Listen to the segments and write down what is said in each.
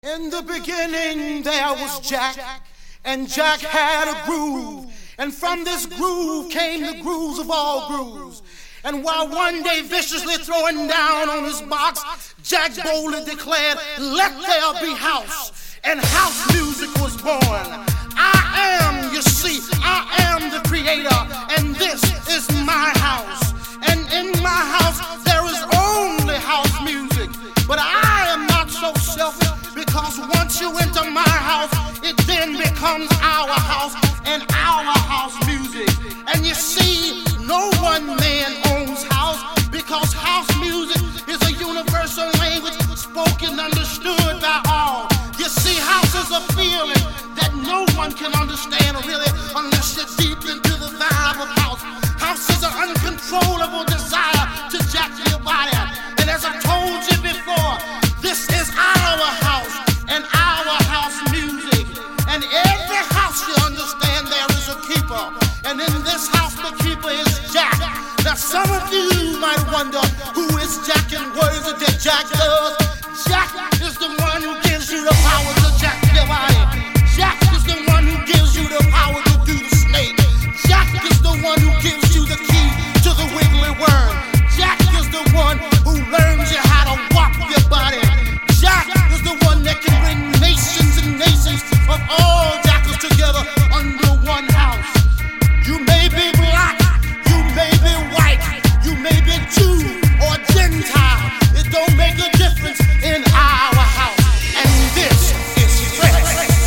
In the beginning there was Jack, and Jack had a groove, and from this groove came the grooves of all grooves. And while one day viciously throwing down on his box, Jack boldly declared, "Let there be house," and house music was born. I am the creator, and this is my house. And in my house there is only house music. But I am not so selfish, because once you enter my house, it then becomes our house and our house music. And you see, no one man owns house, because house music is a universal language spoken, understood by all. You see, house is a feeling that no one can understand really unless you're deep into the vibe of house. House is an uncontrollable desire to jack your body. And as I told you before, this is our house and our house music. And every house, you understand, there is a keeper. And in this house, the keeper is Jack. Now some of you might wonder, who is Jack and what is it that Jack does? Jack is the one who gives you the power to jack your body. Jack is the one who gives you the power to do the snake. Jack is the one who gives you the key to the wiggly worm. Jack is the one who learns you how to walk your body. Jack is the one that can bring nations and nations of all jackals together under one house. You may be black, you may be white, you may be Jew or Gentile. It don't make a difference in our house. And this is fresh.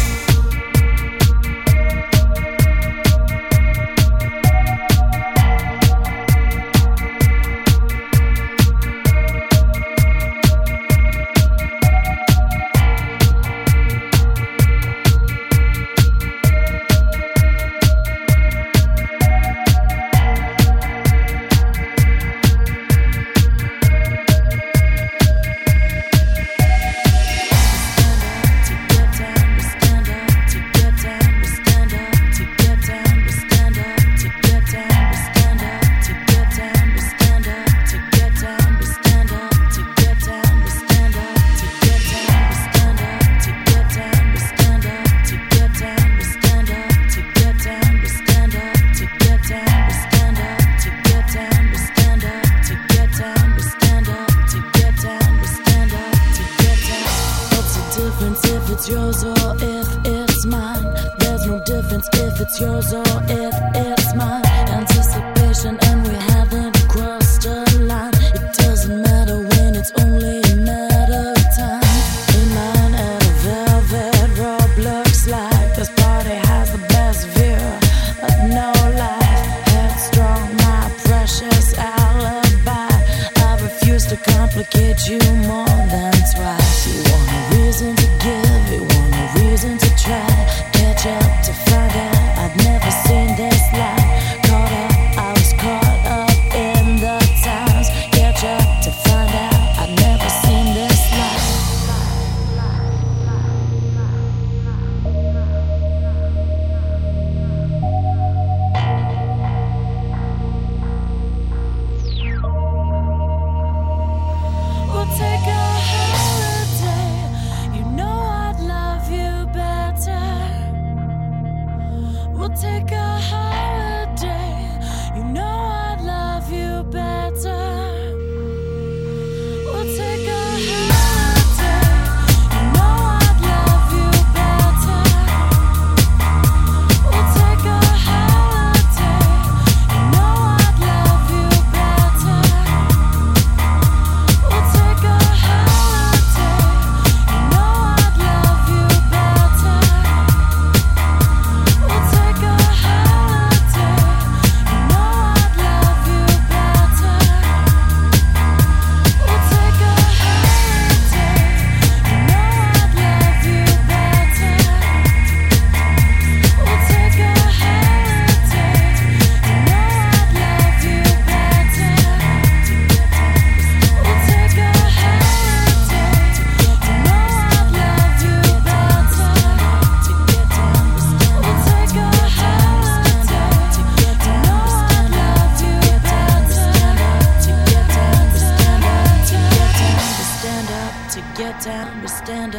If it's yours or if it's mine, there's no difference if it's yours or if it's mine. Anticipation and we haven't crossed a line. It doesn't matter when it's only a matter of time. In line at a velvet Roblox slide, this party has the best view of no life. Headstrong, my precious alibi. I refuse to complicate you more than twice. You want a reason to give, you want a reason to try. Catch up to find out I've never seen this life.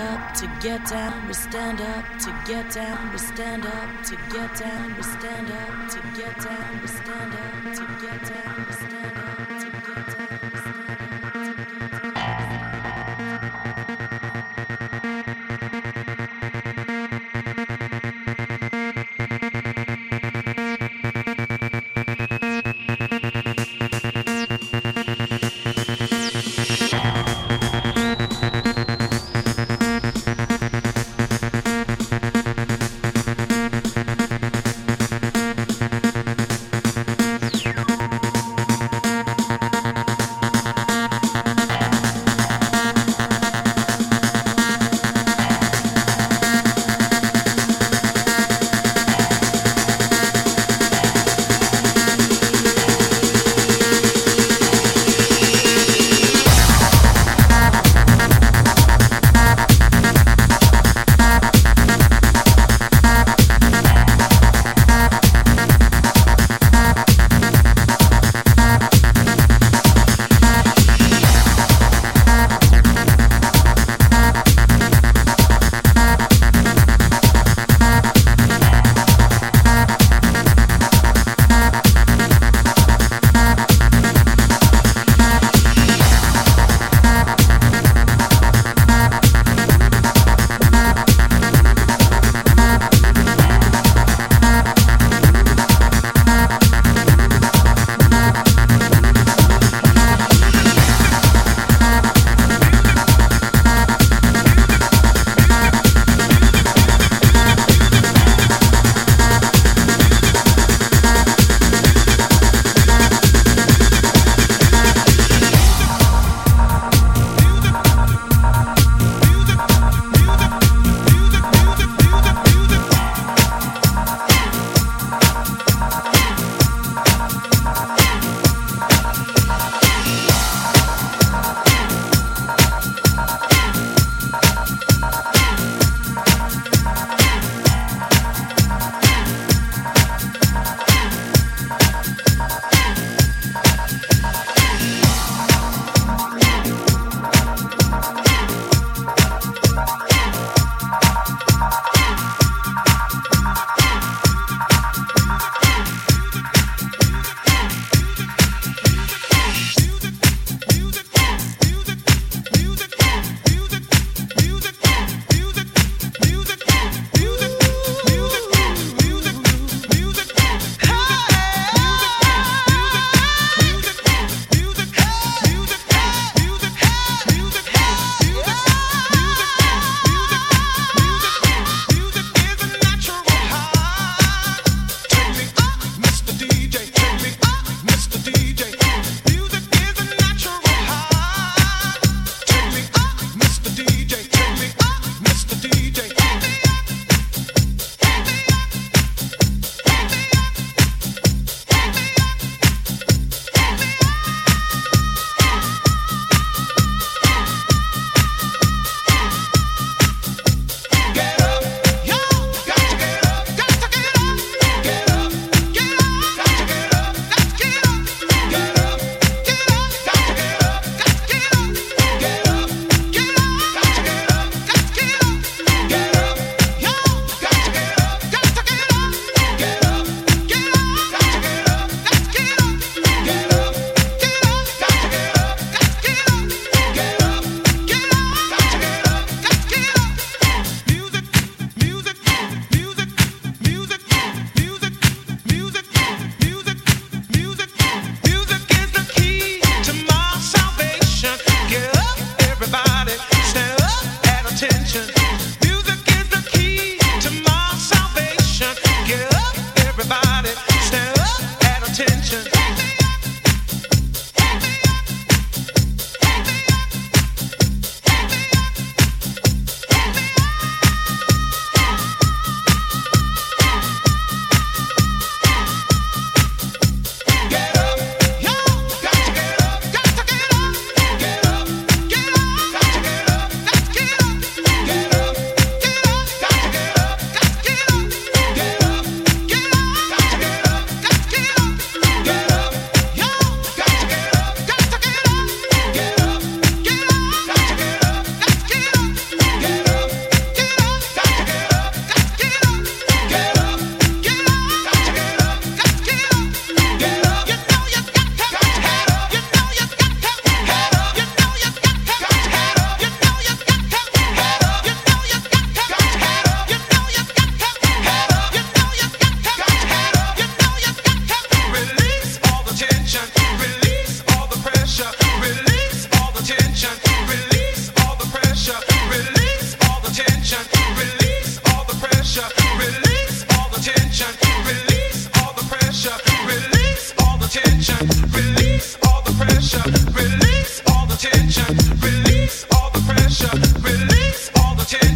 up to get down, we stand up to get down, we stand up to get down, we stand up to get down, we stand up to get down, we stand up to get down.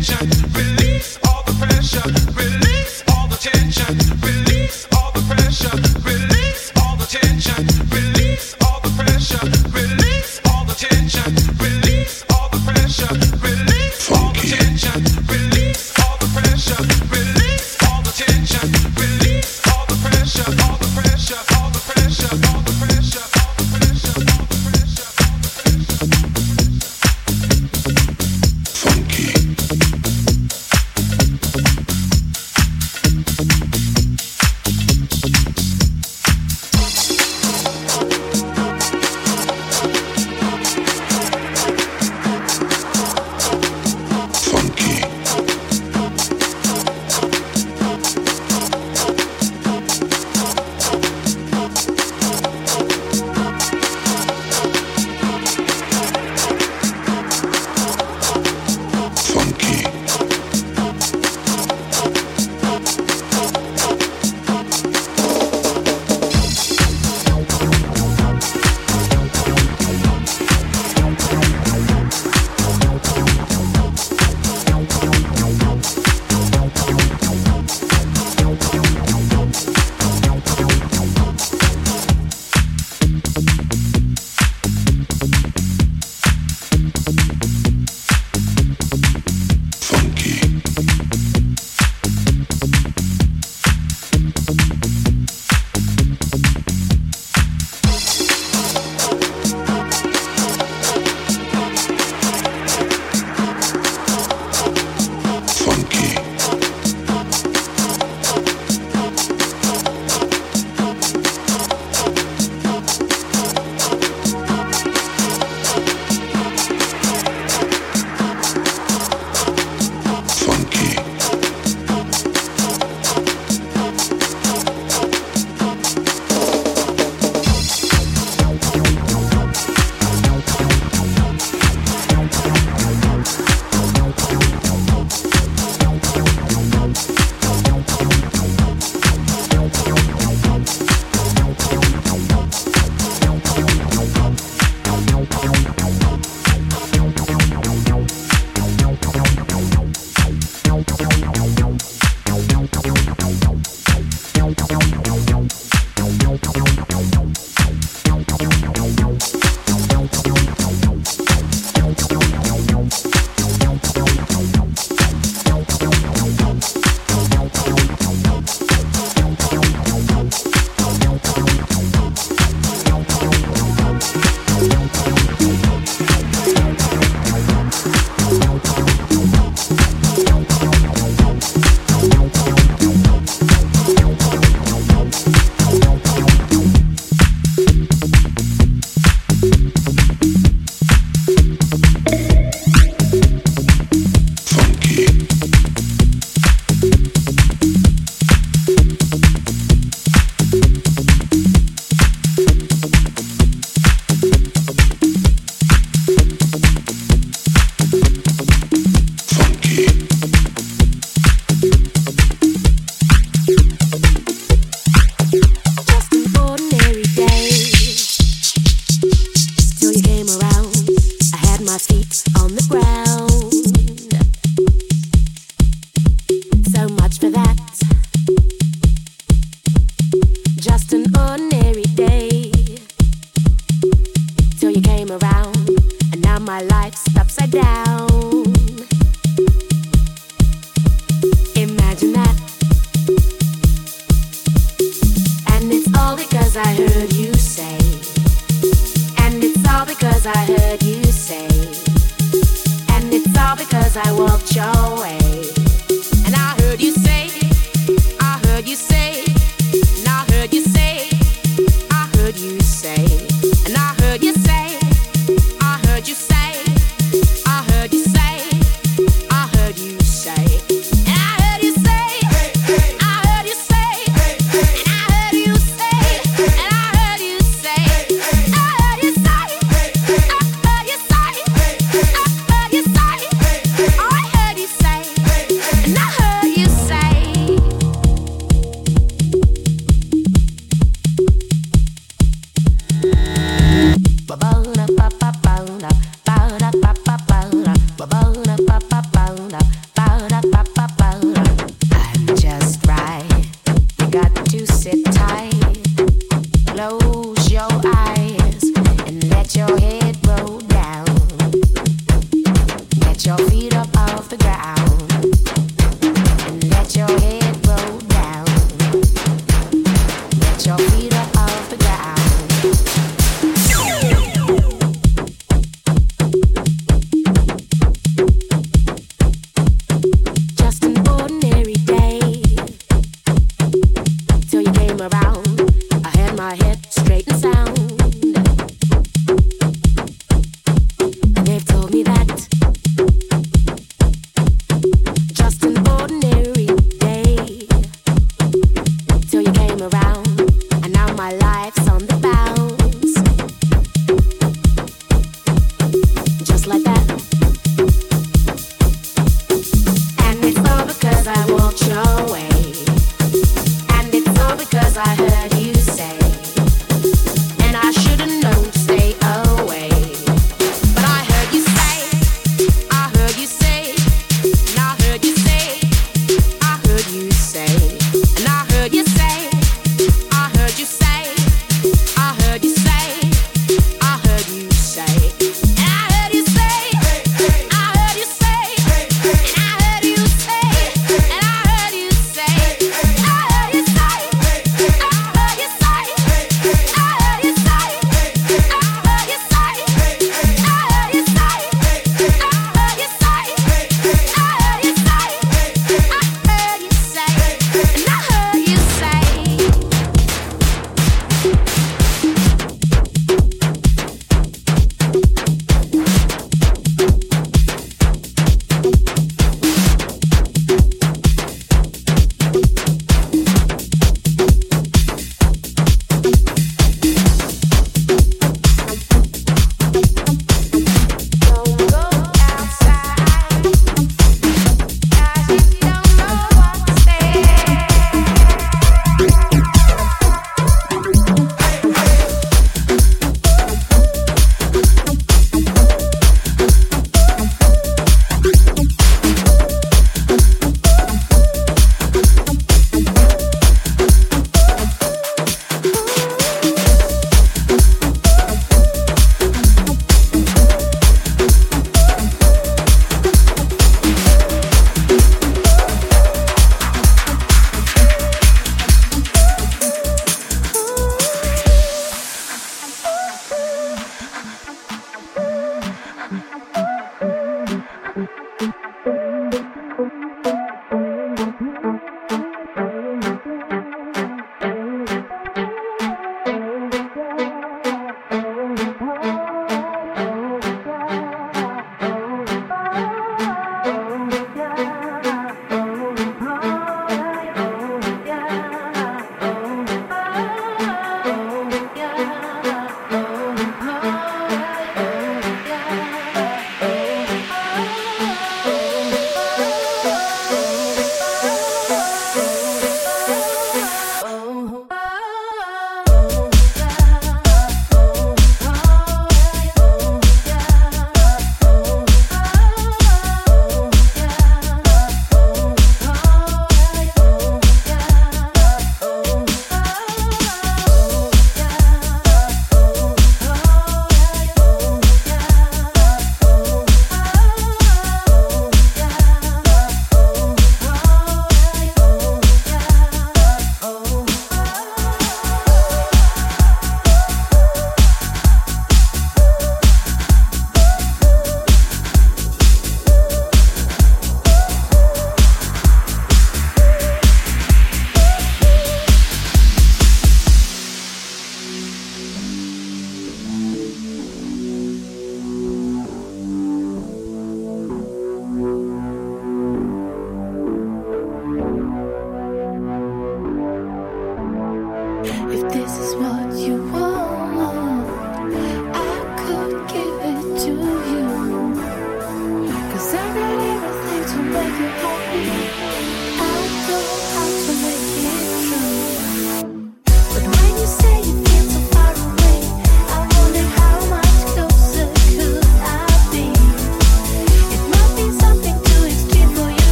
my feet on the ground.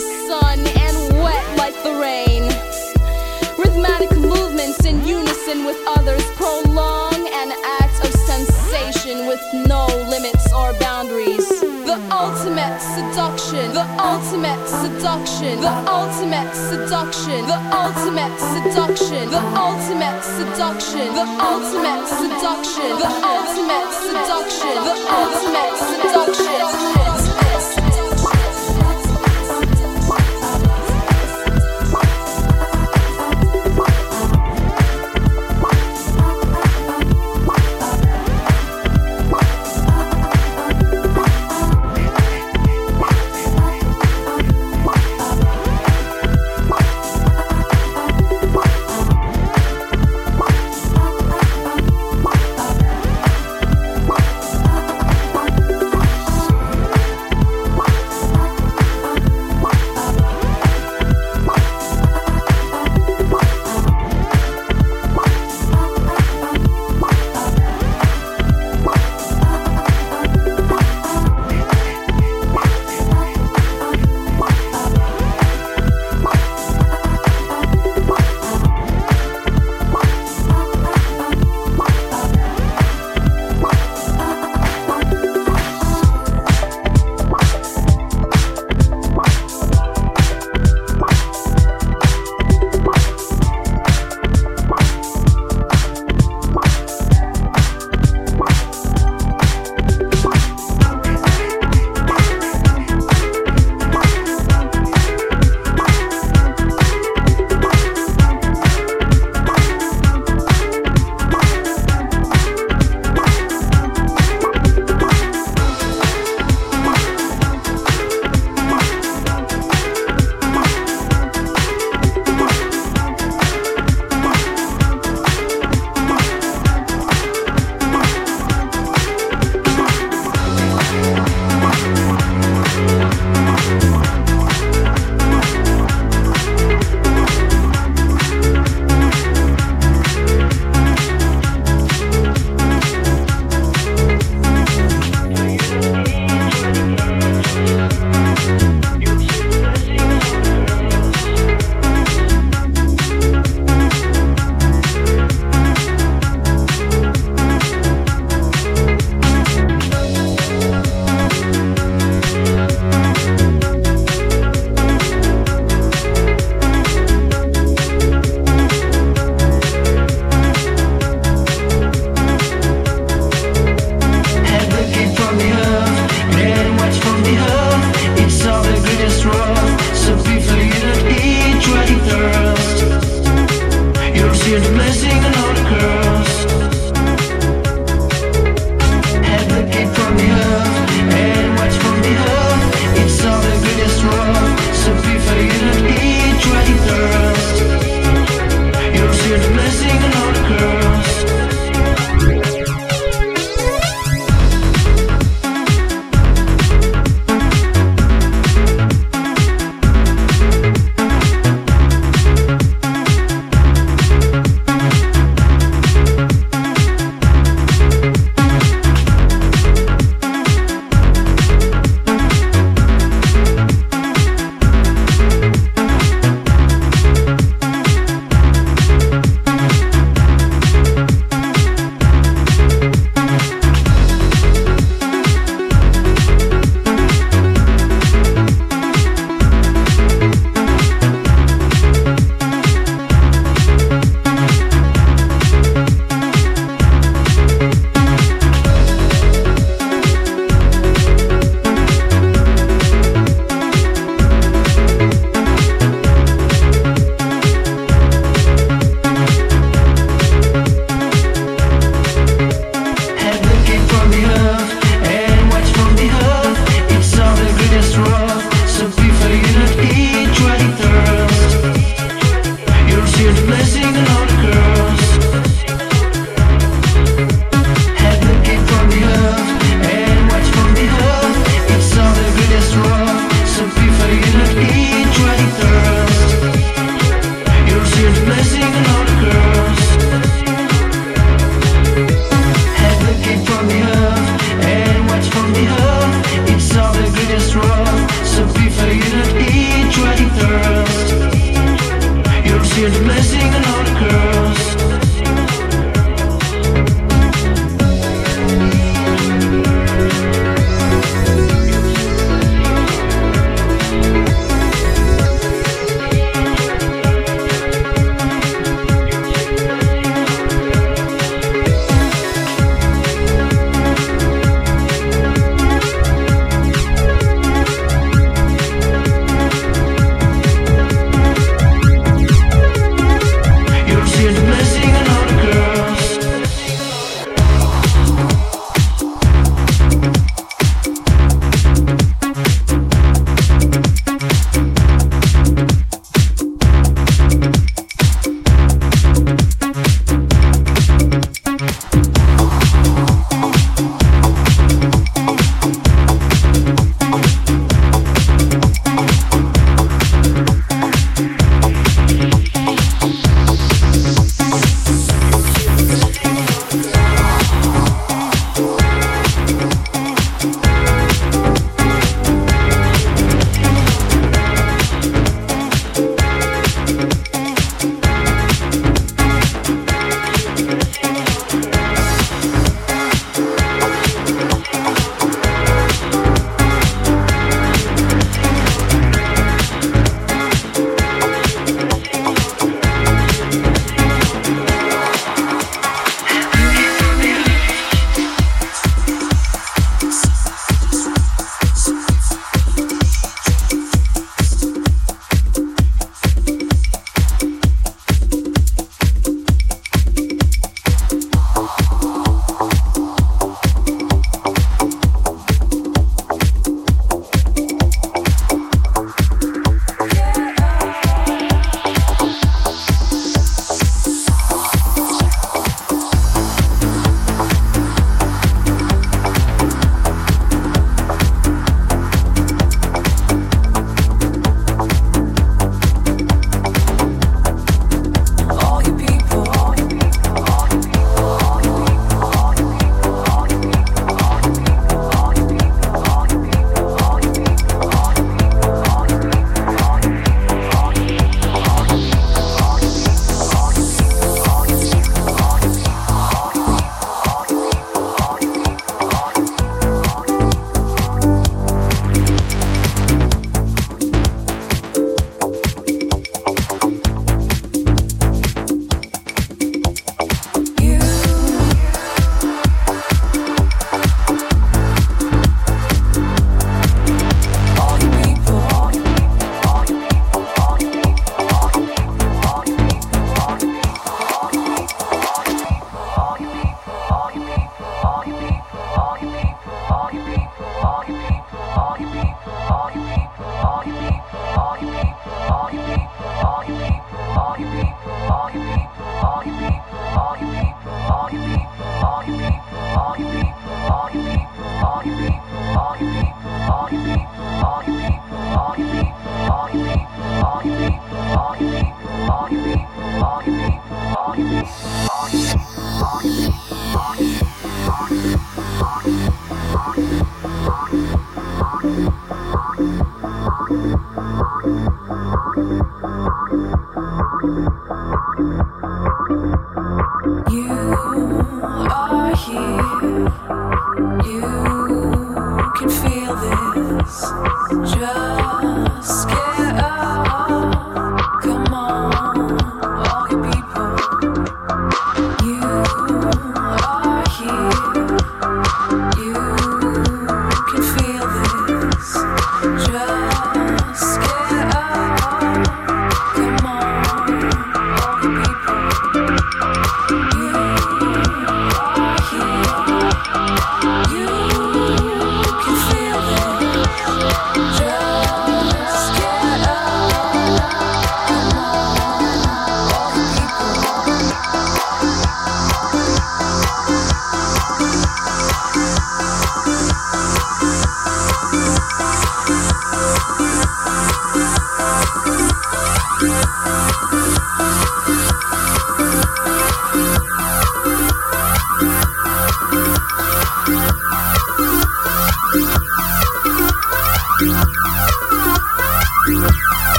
the sun and wet like the rain. Rhythmic movements in unison with others prolong an act of sensation with no limits or boundaries. The ultimate seduction, the ultimate seduction, the ultimate seduction, the ultimate seduction, the ultimate seduction, the ultimate seduction, the ultimate seduction, the ultimate seduction.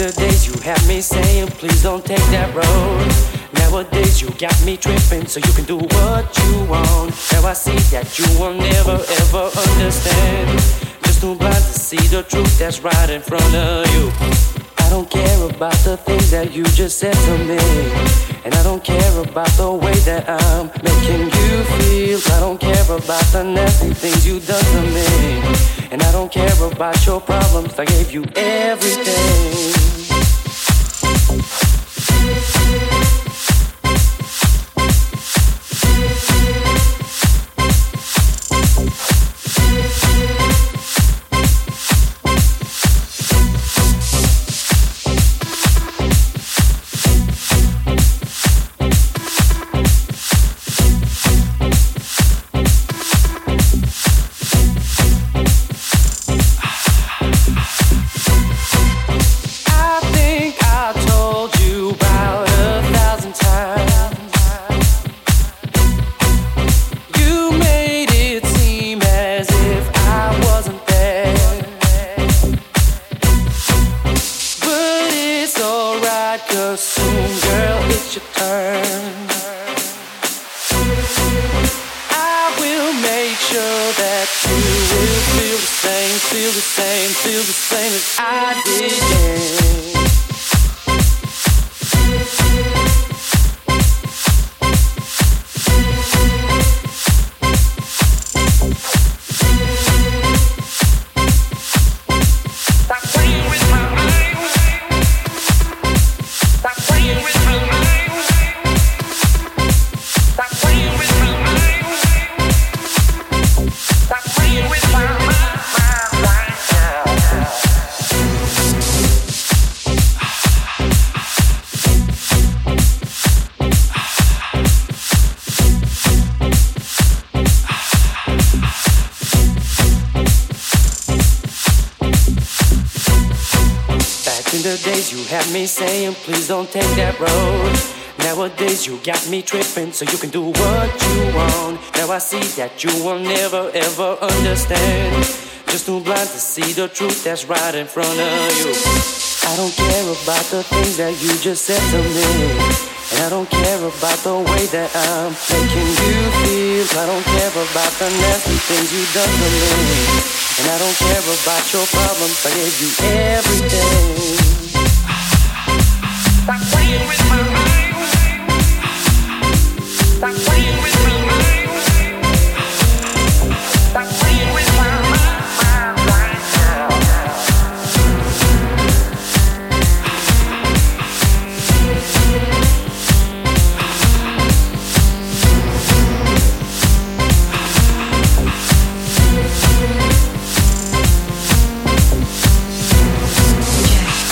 the days you had me saying, please don't take that road. Nowadays you got me tripping, so you can do what you want. Now I see that you will never ever understand. Just too blind to see the truth that's right in front of you. I don't care about the things that you just said to me, and I don't care about the way that I'm making you feel. I don't care about the nasty things you done to me, and I don't care about your problems. I gave you everything. Feel the same as I did, yeah. You had me saying, please don't take that road. Nowadays you got me tripping, so you can do what you want. Now I see that you will never ever understand. Just too blind to see the truth that's right in front of you. I don't care about the things that you just said to me, and I don't care about the way that I'm making you feel. I don't care about the nasty things you done to me, and I don't care about your problems. I gave you everything. Stop playing with my mind. Stop playing with my mind. Stop playing with my mind right now. Yeah.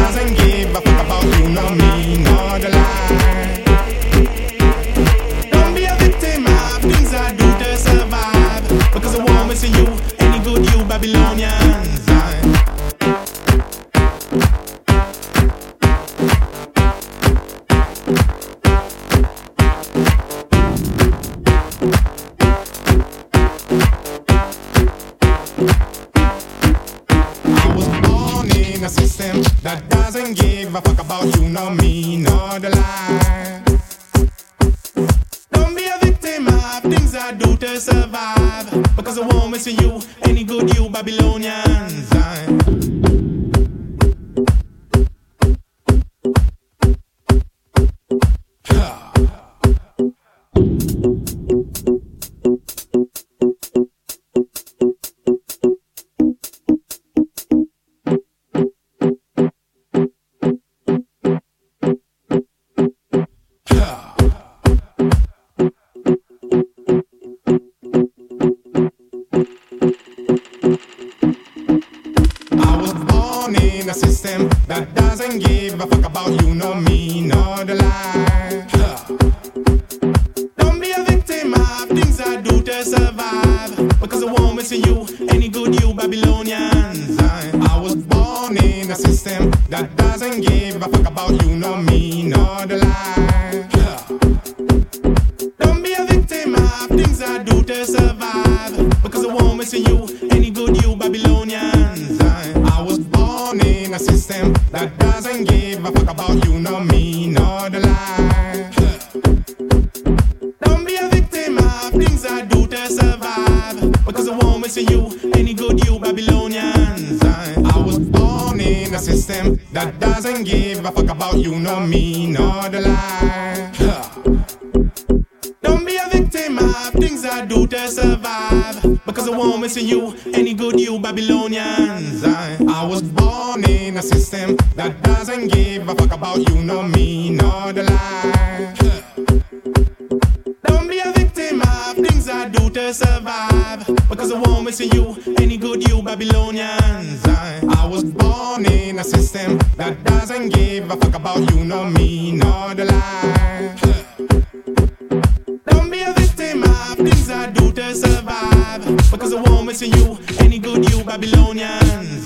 doesn't give a fuck about you, nor me, nor the lie. Don't be a victim of things I do to survive, because I won't miss you, any good you Babylonians. A system that doesn't give a fuck about you, nor me, nor the lie. Don't be a victim of things I do to survive, because I won't miss you, any good you Babylonians. A system that doesn't give a fuck about you, nor me, nor the lie. Don't be a victim of things I do to survive, because I won't miss you, any good you Babylonians. I was born in a system that doesn't give a fuck about you, nor me, nor the lie. Don't be a victim of things I do to survive, because I won't miss you, any good you Babylonians. I was born in a system that doesn't give a fuck about you, nor me, nor the lie. Don't be a victim of things I do to survive, because I won't miss you, any good you Babylonians. I was born in a system that doesn't give a fuck about you, nor me, nor the lie. Don't be a victim of things I do to survive, because I won't miss you, any good you Babylonians. I was born in a system that doesn't give a fuck about you, nor me, nor the lie. Don't be a victim of things I do to survive, because I won't miss you, any good you Babylonians. I was born in a system that doesn't give a fuck about you, nor me, nor the lie. Don't be a victim of things I do to survive, because I won't miss you, any good you Babylonians.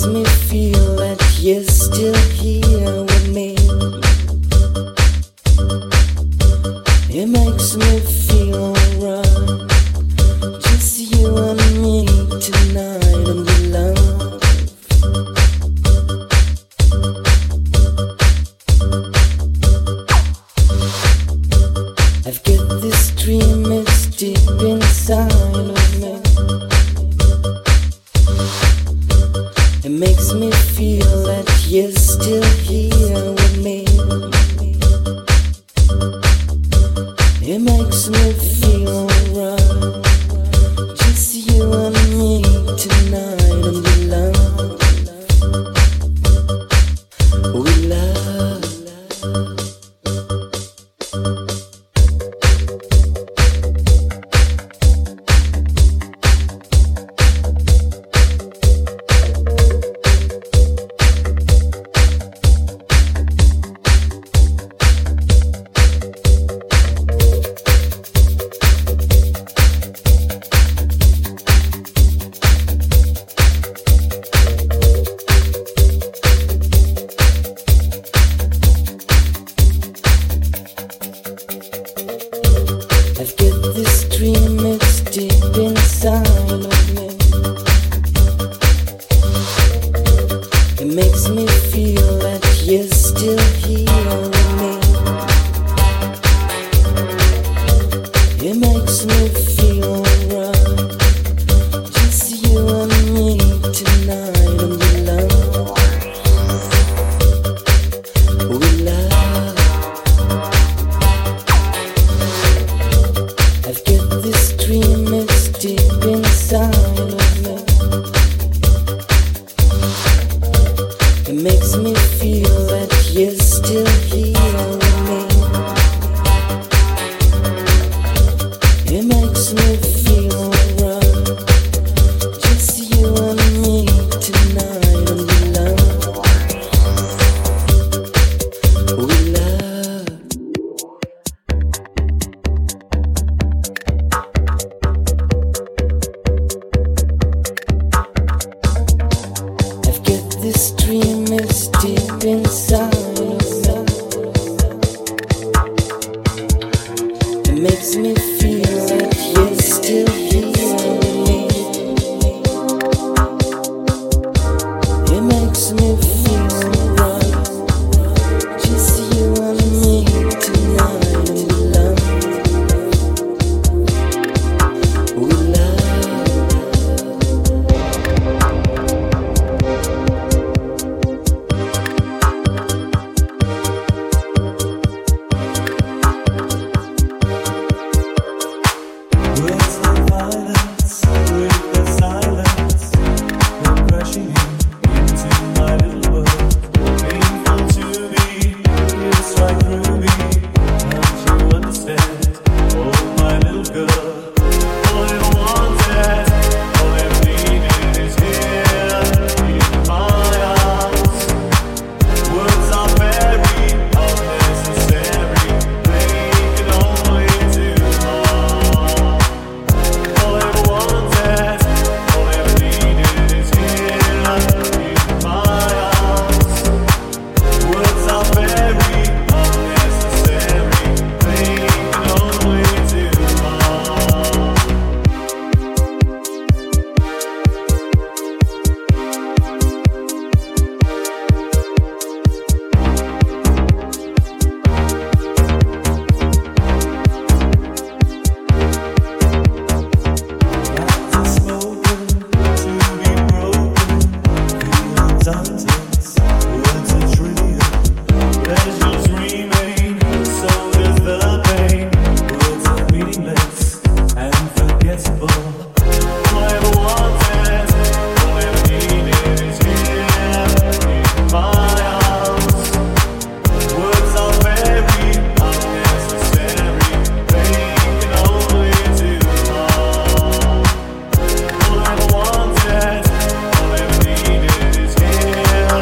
makes me feel that you're still here with me. It makes me feel alright. Just you and me tonight and the love. I've got this dream, it's deep inside of me. It makes me feel that you're still here with me. It makes me feel alright. Just you and me tonight and we love. We love. I've got this dream, it's deep inside of me. It makes me feel that you're still here with me. It makes me feel alright. Just you and me tonight and we love. We love. I've got this dream, it's deep inside of me. It makes me feel that you're still here with me. It makes me feel alright. Just you and me tonight and we love. We love. I've got this dream, it's deep inside of me. It makes me feel that you're still here with me. It makes me feel alright. Just you and me tonight and we love. We love. Words of violence break the silence. They're crashing into my little world. Painful to me, it's right through me. Can't you understand? Oh, my little girl. All I wanted, all I needed is here in my arms. Words are very unnecessary. They can only do harm. All I wanted, all I needed is here in my arms. Words are very unnecessary. They can only do harm. Practice spoken to be broken. Feelings untense, words are trivial. Pleasures remain, so does the pain. Words are meaningless and forgettable. All I ever wanted, all I ever needed is here in my arms. Words are very unnecessary. They can only do harm. All I ever wanted, all I ever needed is here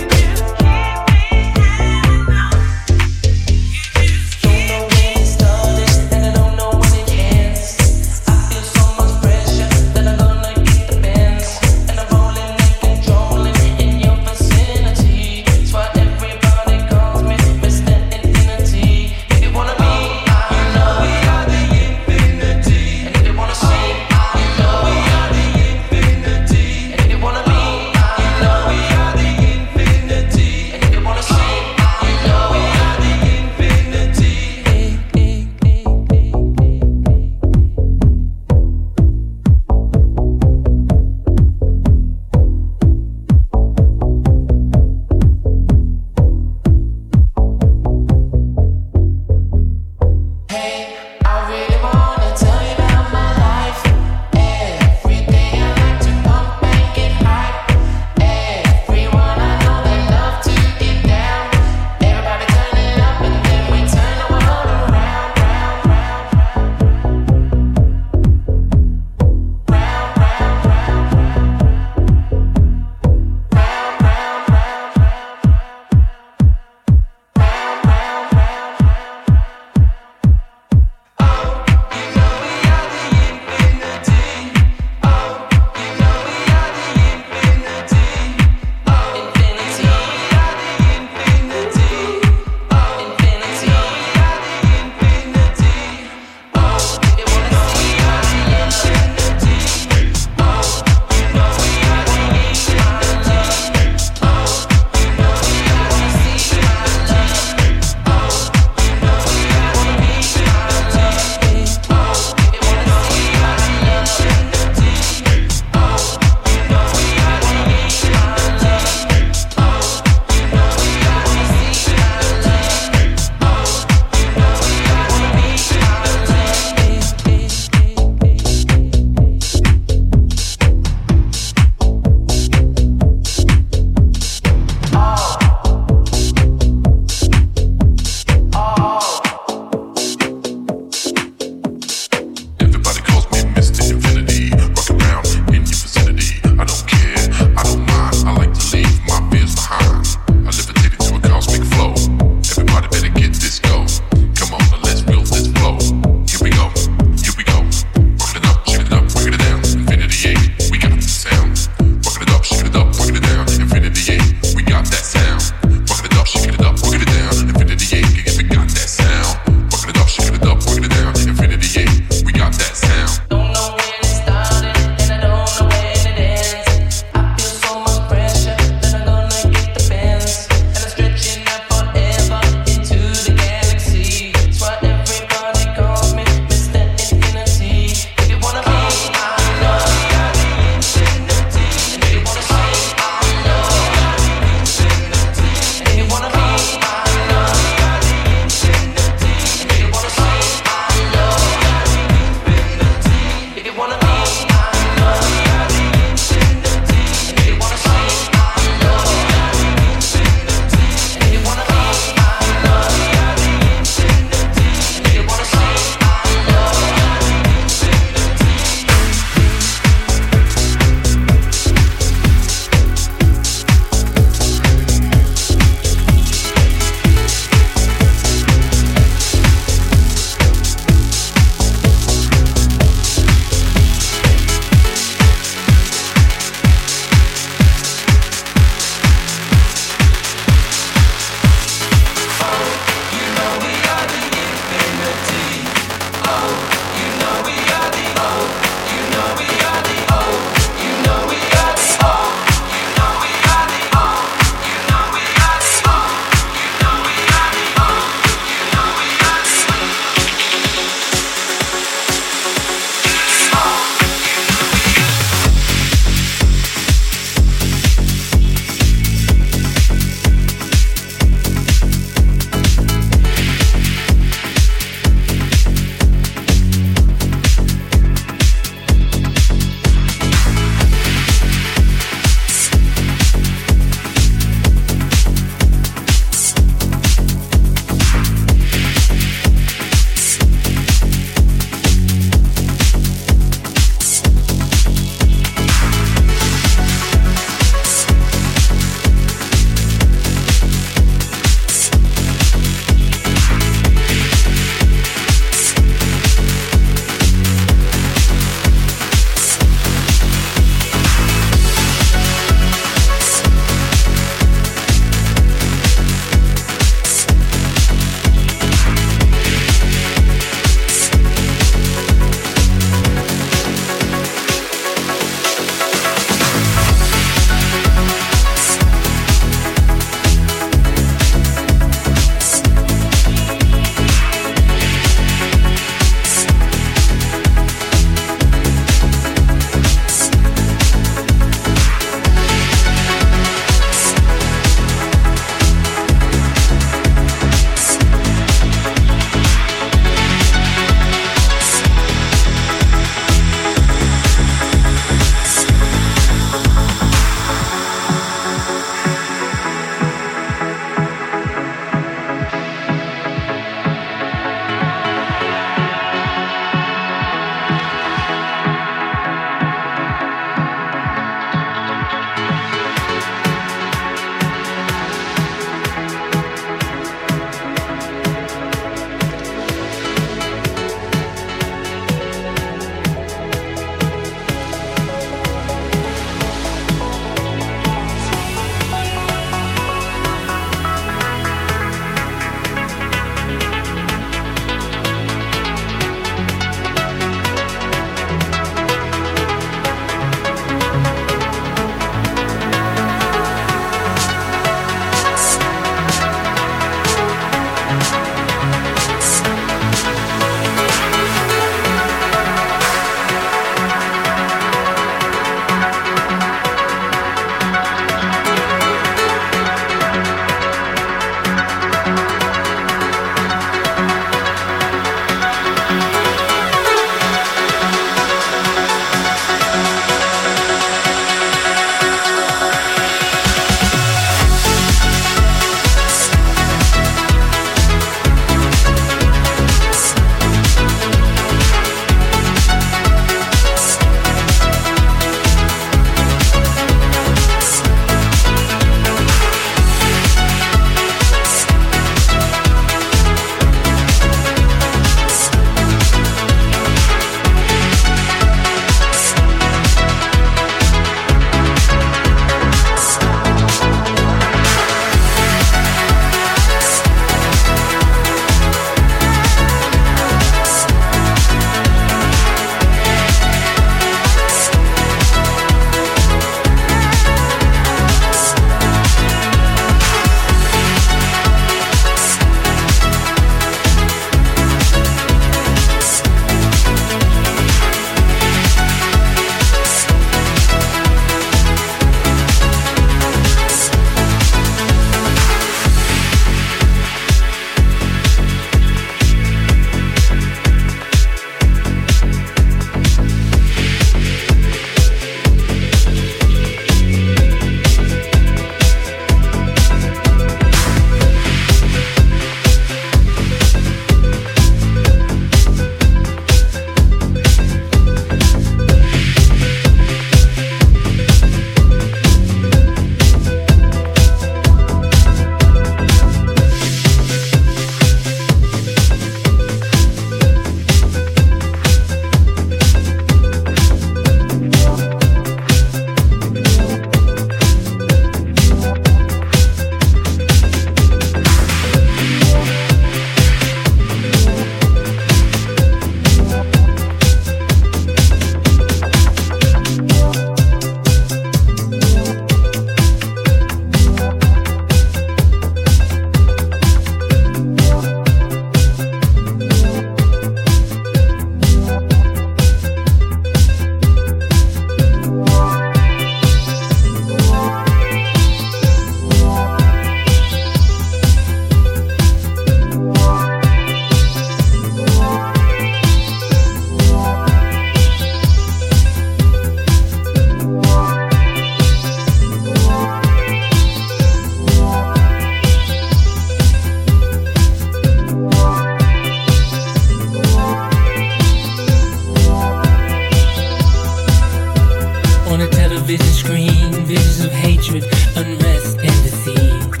television screen, visions of hatred, unrest, and deceit.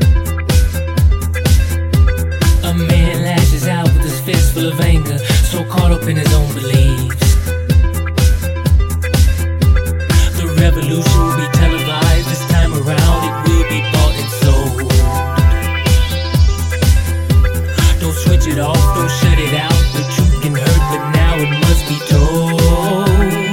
A man lashes out with his fist full of anger, so caught up in his own beliefs. The revolution will be televised this time around. It will be bought and sold. Don't switch it off, don't shut it out. The truth can hurt, but now it must be told.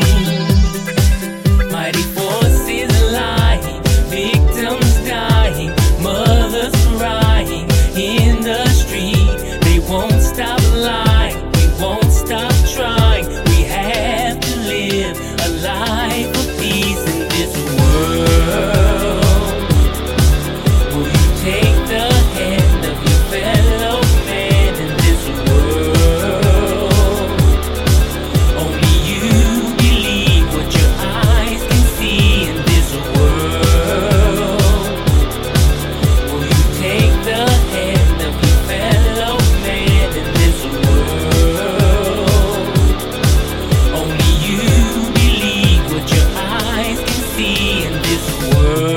Mighty forces lying, victims dying, mothers crying in the street. They won't stop lying, we won't stop trying. We have to live a life of peace in this world. Will you take the hand of your fellow man in this world? Only you believe what your eyes can see in this world. Will you take the hand of your fellow man in this world? Only you believe what your eyes can see in this world.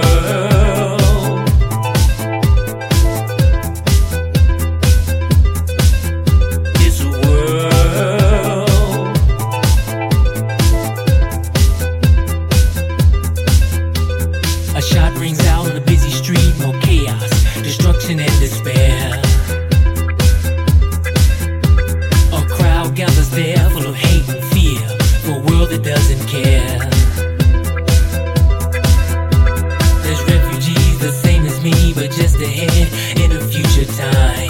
This world. A shot rings out on a busy street, more chaos, destruction and despair. A crowd gathers there full of hate and fear for a world that doesn't care. There's refugees the same as me, but just ahead in a future time.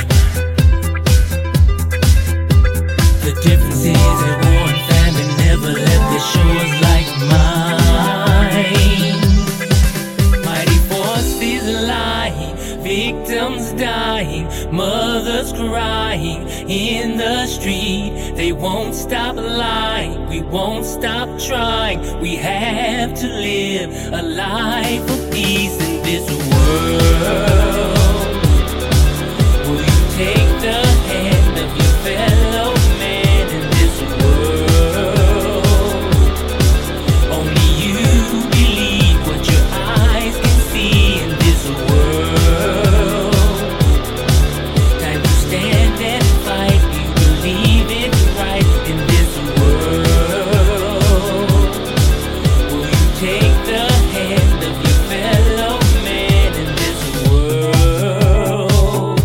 The difference is that war and famine never left the shores like mine. Mighty forces lying, victims dying, mothers crying in the street. They won't stop lying, we won't stop trying. We have to live a life of peace in this world. Will you take the hand of your fellow man in this world? Only you believe what your eyes can see in this world. Time to stand and fight. You believe it's right in this world. Will you take the hand of your fellow man in this world?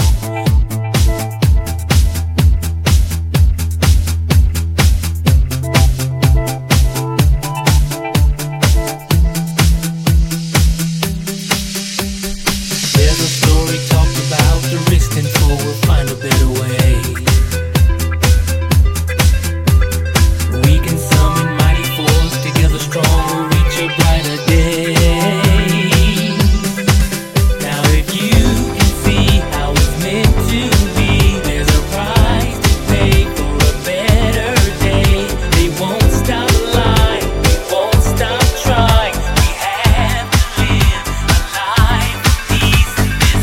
There's a story talked about the risk and fall. We'll find a better way. We can summon mighty force together strong. We'll reach a brighter day. Now if you can see how it's meant to be, there's a price to pay for a better day. They won't stop lying, we won't stop trying. We have to live a life of peace in this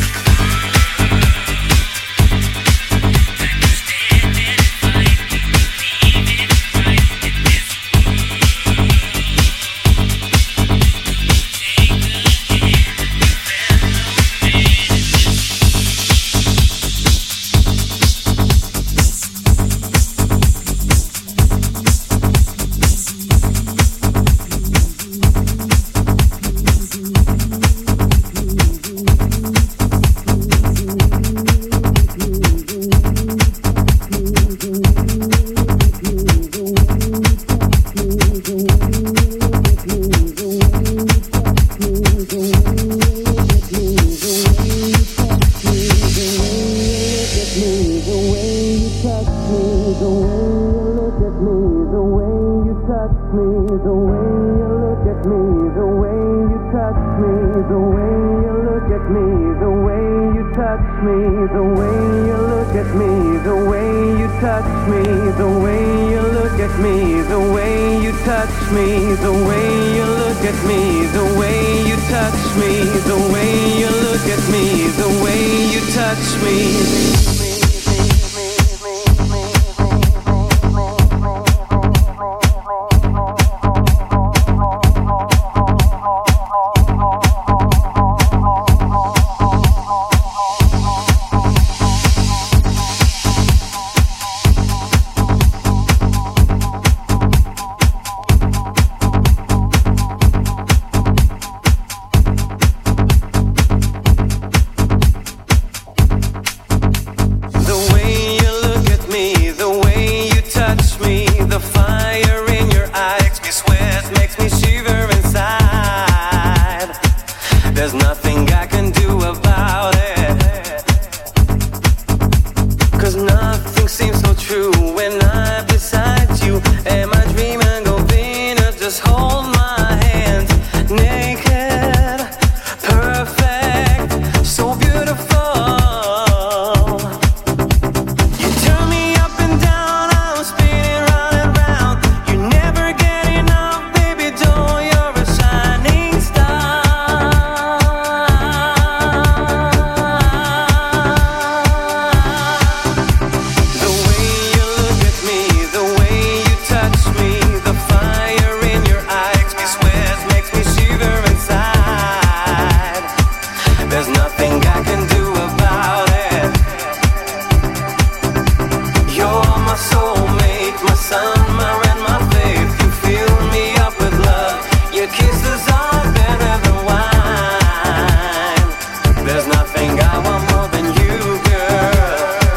my rain, my faith. You fill me up with love. Your kisses are better than wine. There's nothing I want more than you, girl.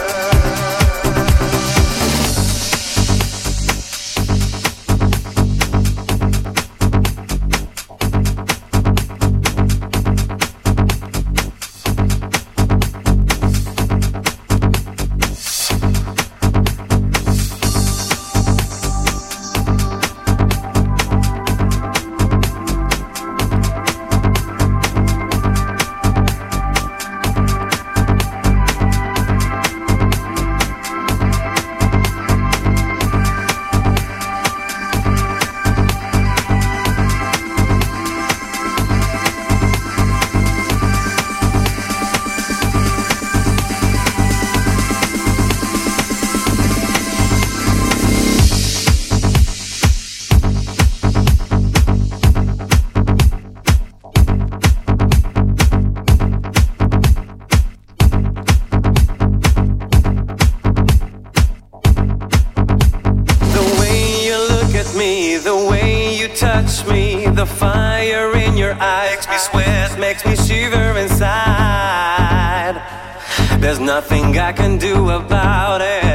The fire in your eyes makes me sweat, makes me shiver inside. There's nothing I can do about it.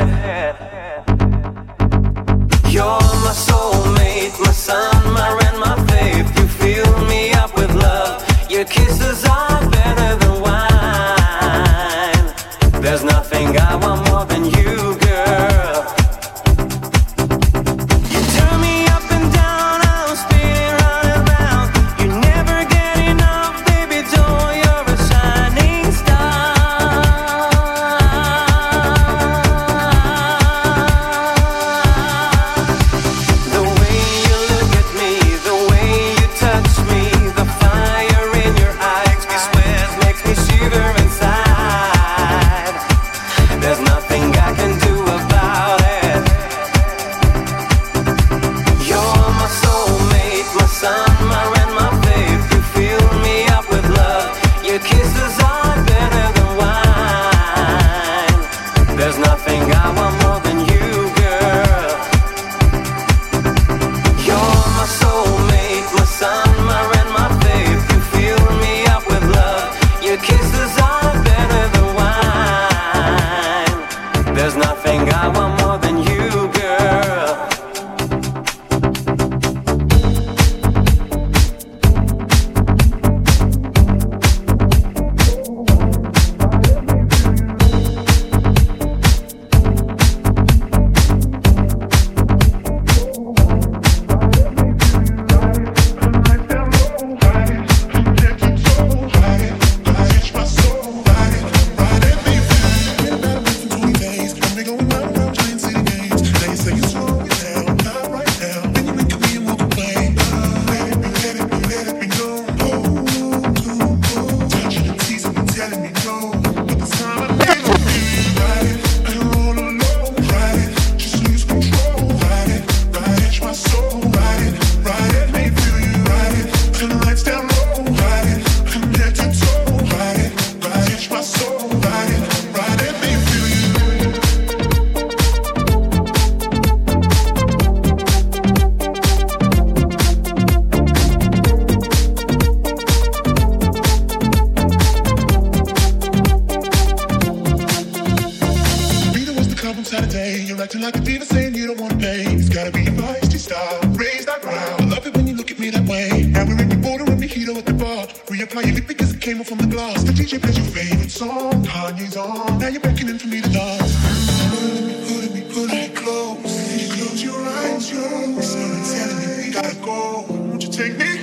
You're my soulmate, my sun, my rain, my faith. You fill me up with love. Your kisses are better than wine. There's nothing I want more than you, girl. You turn me up and down, I'm spinning round and round. You never get enough, baby doll, you're a shining star. The way you look at me, the way you touch me, the fire in your eyes makes me sweat, makes me shiver inside. There's nothing I can do about it. You're my soulmate, my sun, my rain, my faith. You fill me up with love. Your kisses are better than wine. There's nothing I want more than you, girl. You're my soulmate, my sun, my rain, my faith. You fill me up with love. Your kisses are better than wine. There's nothing I want more than you, girl. Saturday, you're acting like a diva, saying you don't wanna pay. It's gotta be your feisty style, raise that ground. I love it when you look at me that way. Now we're in the border and mojito at the bar. Reapply your lip because it came off from the glass. The DJ plays your favorite song, Kanye's on. Now you're beckoning for me to dance. Put me close. Close your eyes, you're telling me we gotta go. Won't you take me?